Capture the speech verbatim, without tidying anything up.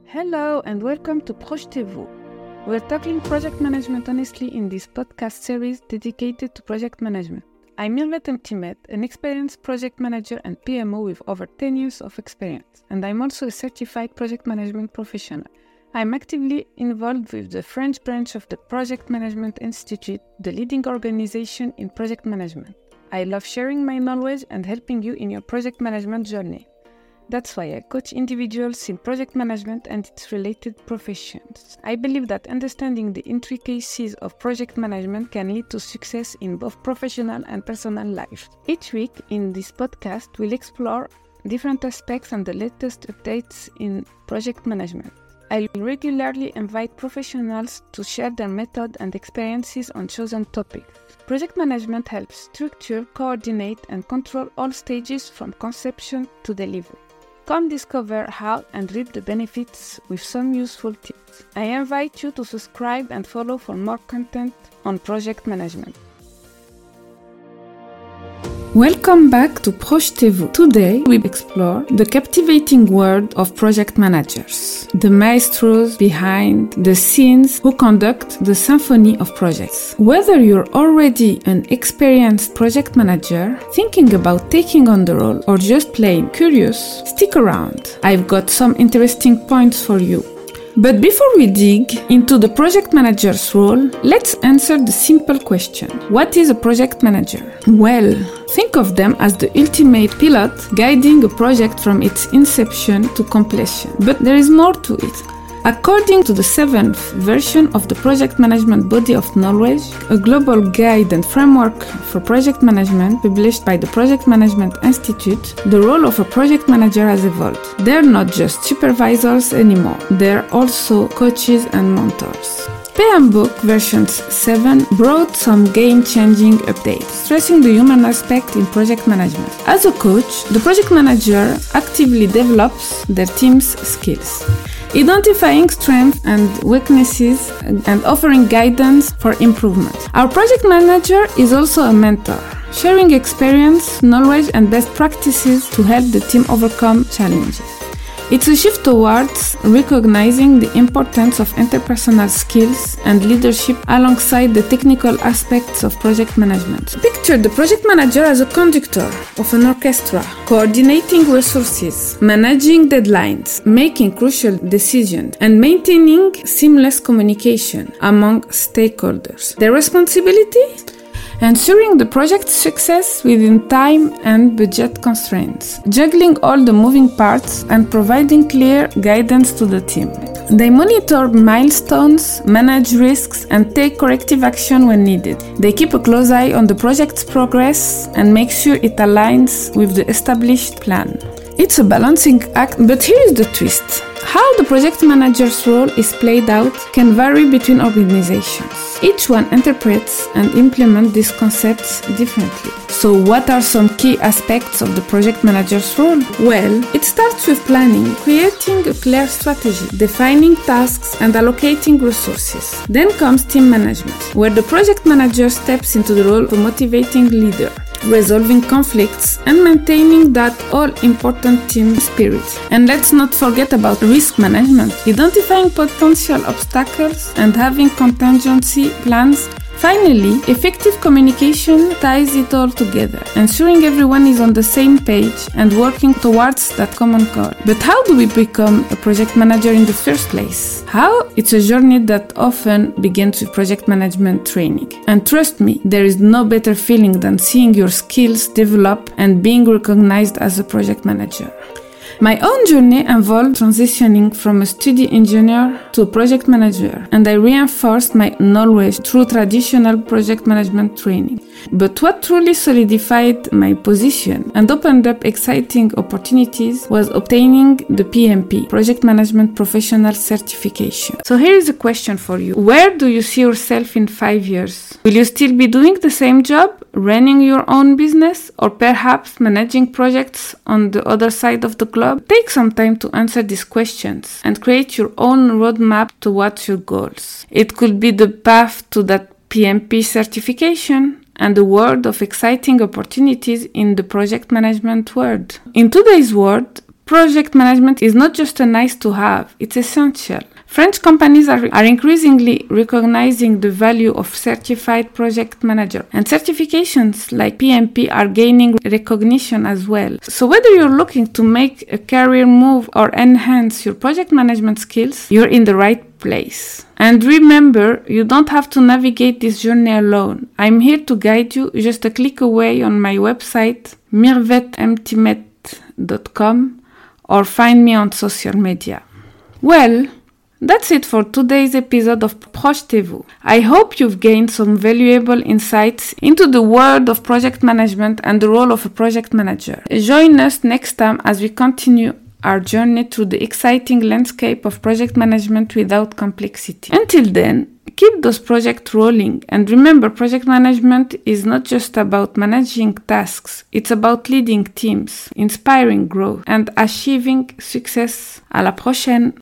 Hello and welcome to Projetez-vous. We're talking project management honestly in this podcast series dedicated to project management. I'm Mirvet Mtimet, an experienced project manager and P M O with over ten years of experience, and I'm also a certified project management professional. I'm actively involved with the French branch of the Project Management Institute, the leading organization in project management. I love sharing my knowledge and helping you in your project management journey. That's why I coach individuals in project management and its related professions. I believe that understanding the intricacies of project management can lead to success in both professional and personal life. Each week in this podcast, we'll explore different aspects and the latest updates in project management. I regularly invite professionals to share their method and experiences on chosen topics. Project management helps structure, coordinate, and control all stages from conception to delivery. Come discover how and reap the benefits with some useful tips. I invite you to subscribe and follow for more content on project management. Welcome back to Projetez-vous. Today we explore the captivating world of project managers, the maestros behind the scenes who conduct the symphony of projects. Whether you're already an experienced project manager, thinking about taking on the role, or just plain curious, stick around. I've got some interesting points for you. But before we dig into the project manager's role, let's answer the simple question. What is a project manager? Well, think of them as the ultimate pilot guiding a project from its inception to completion. But there is more to it. According to the seventh version of the Project Management Body of Knowledge, a global guide and framework for project management published by the Project Management Institute, the role of a project manager has evolved. They're not just supervisors anymore, they're also coaches and mentors. P M Book version seven brought some game-changing updates, stressing the human aspect in project management. As a coach, the project manager actively develops their team's skills, identifying strengths and weaknesses and offering guidance for improvement. Our project manager is also a mentor, sharing experience, knowledge, and best practices to help the team overcome challenges. It's a shift towards recognizing the importance of interpersonal skills and leadership alongside the technical aspects of project management. Picture the project manager as a conductor of an orchestra, coordinating resources, managing deadlines, making crucial decisions, and maintaining seamless communication among stakeholders. Their responsibility? Ensuring the project's success within time and budget constraints, juggling all the moving parts and providing clear guidance to the team. They monitor milestones, manage risks, and take corrective action when needed. They keep a close eye on the project's progress and make sure it aligns with the established plan. It's a balancing act, but here is the twist. How the project manager's role is played out can vary between organizations. Each one interprets and implements these concepts differently. So what are some key aspects of the project manager's role? Well, it starts with planning, creating a clear strategy, defining tasks, and allocating resources. Then comes team management, where the project manager steps into the role of a motivating leader, resolving conflicts, and maintaining that all-important team spirit. And let's not forget about risk management, identifying potential obstacles and having contingency plans. Finally, effective communication ties it all together, ensuring everyone is on the same page and working towards that common goal. But how do we become a project manager in the first place? How? It's a journey that often begins with project management training. And trust me, there is no better feeling than seeing your skills develop and being recognized as a project manager. My own journey involved transitioning from a study engineer to a project manager, and I reinforced my knowledge through traditional project management training. But what truly solidified my position and opened up exciting opportunities was obtaining the P M P, Project Management Professional Certification. So here is a question for you. Where do you see yourself in five years? Will you still be doing the same job, running your own business, or perhaps managing projects on the other side of the globe? Take some time to answer these questions and create your own roadmap towards your goals. It could be the path to that P M P certification and a world of exciting opportunities in the project management world. In today's world, project management is not just a nice to have, it's essential. French companies are, are increasingly recognizing the value of certified project manager, and certifications like P M P are gaining recognition as well. So whether you're looking to make a career move or enhance your project management skills, you're in the right place. And remember, you don't have to navigate this journey alone. I'm here to guide you just a click away on my website mirvet mtimet dot com or find me on social media. Well, that's it for today's episode of Projetez-vous. I hope you've gained some valuable insights into the world of project management and the role of a project manager. Join us next time as we continue our journey through the exciting landscape of project management without complexity. Until then, keep those projects rolling, and remember, project management is not just about managing tasks, it's about leading teams, inspiring growth, and achieving success. À la prochaine!